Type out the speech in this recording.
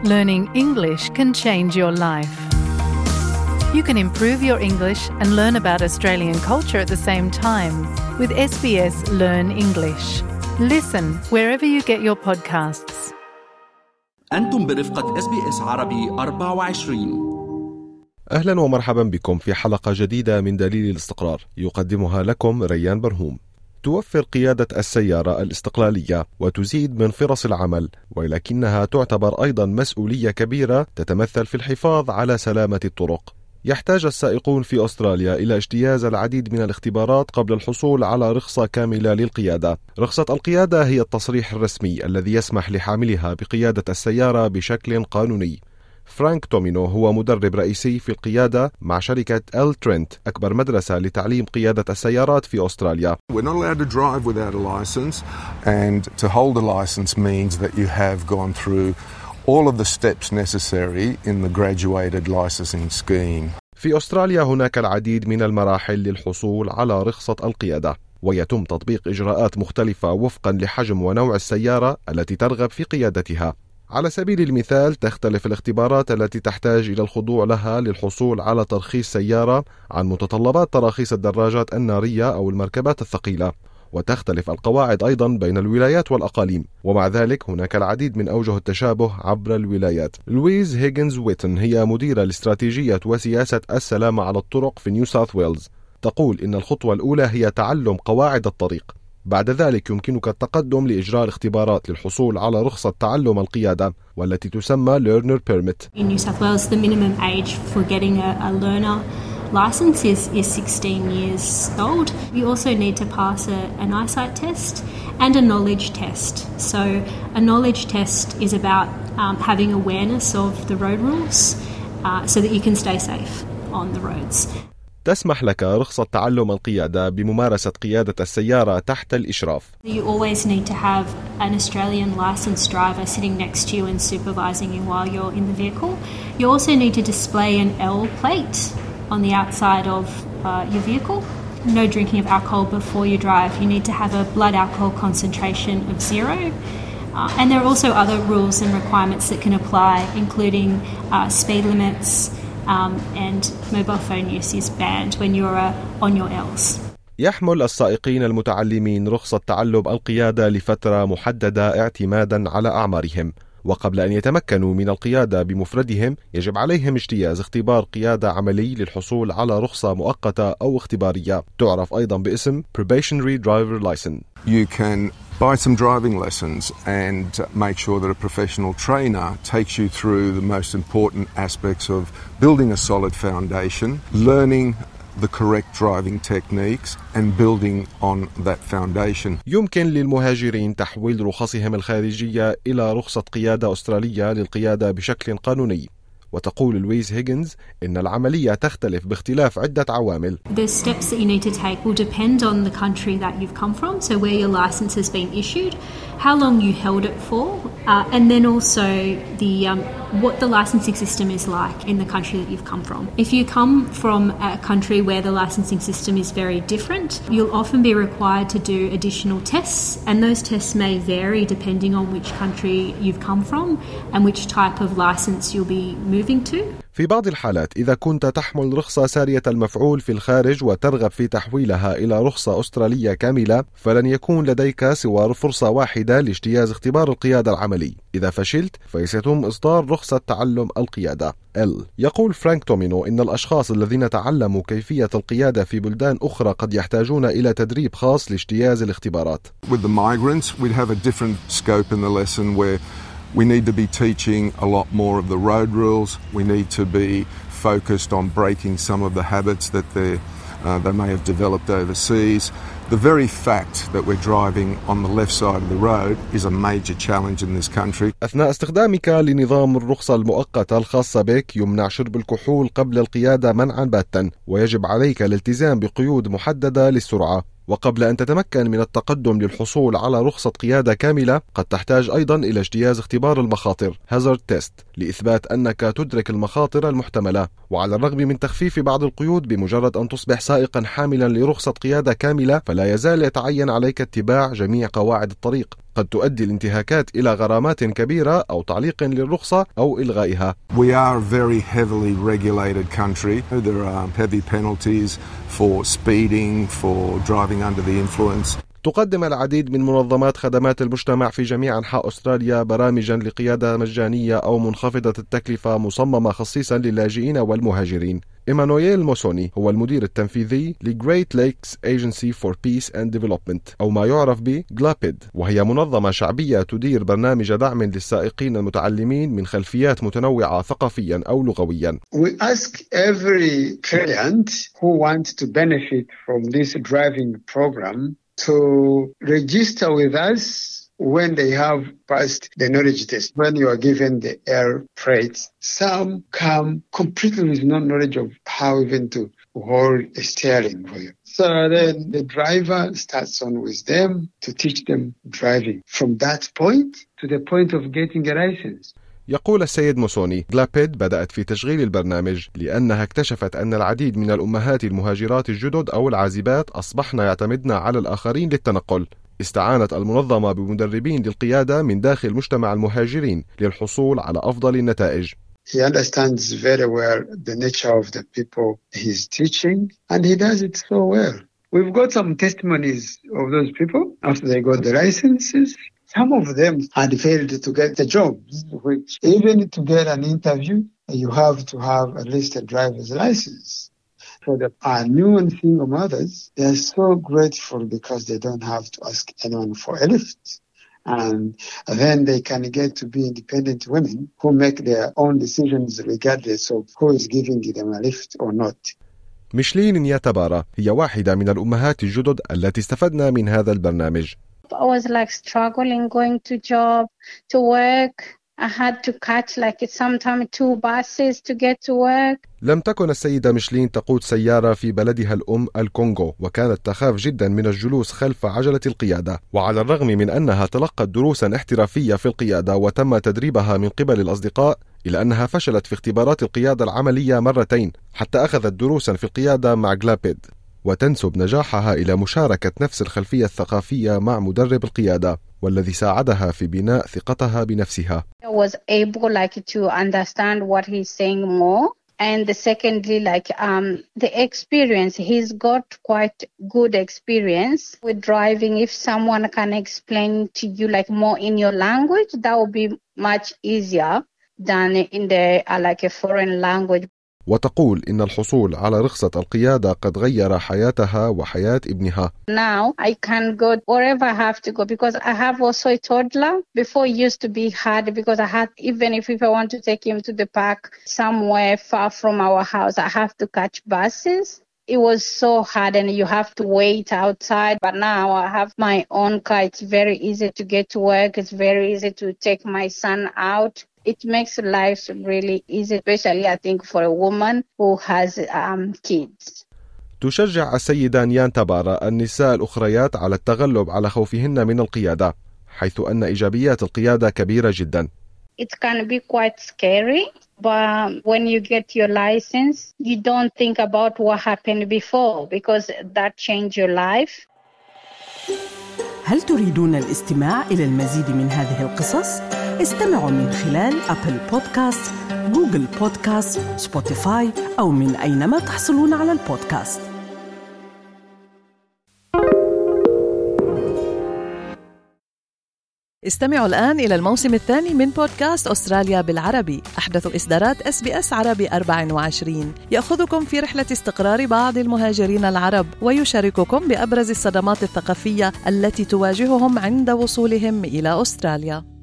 Learning English can change your life. You can improve your English and learn about Australian culture at the same time with SBS Learn English. Listen wherever you get your podcasts. أنتم برفقة SBS عربي 24. أهلا ومرحبا بكم في حلقة جديدة من دليل الاستقرار يقدمها لكم ريان برهوم. توفر قيادة السيارة الاستقلالية وتزيد من فرص العمل، ولكنها تعتبر أيضا مسؤولية كبيرة تتمثل في الحفاظ على سلامة الطرق. يحتاج السائقون في أستراليا إلى اجتياز العديد من الاختبارات قبل الحصول على رخصة كاملة للقيادة. رخصة القيادة هي التصريح الرسمي الذي يسمح لحاملها بقيادة السيارة بشكل قانوني. فرانك تومينو هو مدرب رئيسي في القيادة مع شركة إل ترينت، أكبر مدرسة لتعليم قيادة السيارات في أستراليا. We're not allowed to drive without a license, and to hold a license means that you have gone through all of the steps necessary in the graduated licensing scheme. في أستراليا هناك العديد من المراحل للحصول على رخصة القيادة، ويتم تطبيق إجراءات مختلفة وفقا لحجم ونوع السيارة التي ترغب في قيادتها. على سبيل المثال، تختلف الاختبارات التي تحتاج إلى الخضوع لها للحصول على ترخيص سيارة عن متطلبات تراخيص الدراجات النارية أو المركبات الثقيلة، وتختلف القواعد أيضا بين الولايات والأقاليم، ومع ذلك هناك العديد من أوجه التشابه عبر الولايات. لويز هيغنز ويتن هي مديرة لاستراتيجية وسياسة السلامة على الطرق في نيو ساوث ويلز. تقول إن الخطوة الأولى هي تعلم قواعد الطريق، بعد ذلك يمكنك التقدم لإجراء الاختبارات للحصول على رخصة تعلم القيادة والتي تسمى Learner Permit. In New South Wales, the minimum age for getting a learner license is 16 years old. You also need to pass an eyesight test and a knowledge test. So a knowledge test is about having awareness of the road rules so that you can stay safe on the roads. تسمح لك رخصة تعلم القيادة بممارسة قيادة السيارة تحت الإشراف. You always need to have an Australian licensed driver sitting next to you and supervising you while you're in the vehicle. You also need to display an L plate on the outside of your vehicle. No drinking of alcohol before you drive. You need to have a blood alcohol concentration of 0. And there are also other rules and requirements that can apply, including speed limits, and mobile phone use is banned when you're on your L's. يحمل السائقين المتعلمين رخصة تعلم القيادة لفترة محددة اعتمادا على أعمارهم، وقبل أن يتمكنوا من القيادة بمفردهم يجب عليهم اجتياز اختبار قيادة عملي للحصول على رخصة مؤقتة أو اختبارية، تعرف أيضا باسم Probationary Driver License. You can buy some driving lessons and make sure that a professional trainer takes you through the most important aspects of building a solid foundation, learning the correct driving techniques and building on that foundation. يمكن للمهاجرين تحويل رخصهم الخارجية إلى رخصة قيادة أسترالية للقيادة بشكل قانوني. وتقول لويز هيغنز إن العملية تختلف باختلاف عدة عوامل. The steps that you need to take will depend on the country that you've come from, so where your license has been issued, how long you held it for, and then also what the licensing system is like in the country that you've come from. If you come from a country where the licensing system is very different, you'll often be required to do additional tests, and those tests may vary depending on which country you've come from and which type of license you'll be moving to. في بعض الحالات إذا كنت تحمل رخصة سارية المفعول في الخارج وترغب في تحويلها إلى رخصة أسترالية كاملة، فلن يكون لديك سوى فرصة واحدة لاجتياز اختبار القيادة العملي. إذا فشلت فسيتم إصدار رخصة تعلم القيادة L. يقول فرانك تومينو إن الأشخاص الذين تعلموا كيفية القيادة في بلدان أخرى قد يحتاجون إلى تدريب خاص لاجتياز الاختبارات. With the migrants, we'd have a different scope in the lesson where we need to be teaching a lot more of the road rules. We need to be focused on breaking some of the habits that they may have developed overseas. The very fact that we're driving on the left side of the road is a major challenge in this country. أثناء استخدامك لنظام الرخصة المؤقتة الخاصة بك يمنع شرب الكحول قبل القيادة منعا باتا، ويجب عليك الالتزام بقيود محددة للسرعة. وقبل أن تتمكن من التقدم للحصول على رخصة قيادة كاملة قد تحتاج أيضا إلى اجتياز اختبار المخاطر Hazard Test لإثبات أنك تدرك المخاطر المحتملة. وعلى الرغم من تخفيف بعض القيود بمجرد أن تصبح سائقا حاملا لرخصة قيادة كاملة، فلا يزال يتعين عليك اتباع جميع قواعد الطريق. قد تؤدي الانتهاكات إلى غرامات كبيرة أو تعليق للرخصة أو إلغائها. We are a very heavily regulated country. There are heavy penalties for speeding, for driving under the influence. تقدم العديد من منظمات خدمات المجتمع في جميع أنحاء أستراليا برامجا لقيادة مجانية أو منخفضة التكلفة مصممة خصيصا للاجئين والمهاجرين. إيمانويل موسوني هو المدير التنفيذي لGreat Lakes Agency for Peace and Development أو ما يعرف ب GLAPID، وهي منظمة شعبية تدير برنامج دعم للسائقين المتعلمين من خلفيات متنوعة ثقافيا أو لغويا. We ask every client who wants to benefit from this driving program to register with us when they have passed the knowledge test. When you are given the air freight, some come completely with no knowledge of how even to hold a steering wheel. So then the driver starts on with them to teach them driving from that point to the point of getting a license. يقول السيد موسوني GLAPID بدأت في تشغيل البرنامج لأنها اكتشفت أن العديد من الأمهات المهاجرات الجدد أو العازبات أصبحن يعتمدن على الآخرين للتنقل. استعانت المنظمة بمدربين للقيادة من داخل مجتمع المهاجرين للحصول على أفضل النتائج. He understands very well the nature of the people he's teaching, and he does it so well. We've got some testimonies of those people after they got the licenses. Some of them had failed to get the jobs, which even to get an interview, you have to have at least a driver's license. For the new and single mothers, they are so grateful because they don't have to ask anyone for a lift. And then they can get to be independent women who make their own decisions regardless of who is giving them a lift or not. ميشلين نياتابارا هي واحدة من الأمهات الجدد التي استفدنا من هذا البرنامج. I was like struggling going to job, to work. I had to catch like sometimes 2 buses to get to work. لم تكن السيدة ميشلين تقود سيارة في بلدها الأم الكونغو، وكانت تخاف جدا من الجلوس خلف عجلة القيادة، وعلى الرغم من أنها تلقت دروسا احترافية في القيادة وتم تدريبها من قبل الأصدقاء، إلا أنها فشلت في اختبارات القيادة العملية مرتين حتى أخذت دروسا في القيادة مع GLAPID، وتنسب نجاحها إلى مشاركة نفس الخلفية الثقافية مع مدرب القيادة والذي ساعدها في بناء ثقتها بنفسها. I was able to understand what he's saying more. And secondly, the experience, he's got quite good experience with driving. If someone can explain to you more in your language, that would be much easier than in a foreign language. وتقول إن الحصول على رخصة القيادة قد غير حياتها وحياة ابنها. Now I can go wherever I have to go because I have also a toddler. Before it used to be hard because I had, even if I want to take him to the park somewhere far from our house, I have to catch buses. It was so hard and you have to wait outside. But now I have my own car. It's very easy to get to work. It's very easy to take my son out. It makes life really easy, especially I think for a woman who has kids. تشجع السيدة نياتابارا النساء الأخريات على التغلب على خوفهن من القيادة، حيث أن إيجابيات القيادة كبيرة جدا. It can be quite scary, but when you get your license, you don't think about what happened before because that changed your life. هل تريدون الاستماع إلى المزيد من هذه القصص؟ استمعوا من خلال أبل بودكاست، جوجل بودكاست، سبوتيفاي أو من أينما تحصلون على البودكاست. استمعوا الآن إلى الموسم الثاني من بودكاست أستراليا بالعربي، أحدث إصدارات SBS عربي 24 يأخذكم في رحلة استقرار بعض المهاجرين العرب ويشارككم بأبرز الصدمات الثقافية التي تواجههم عند وصولهم إلى أستراليا.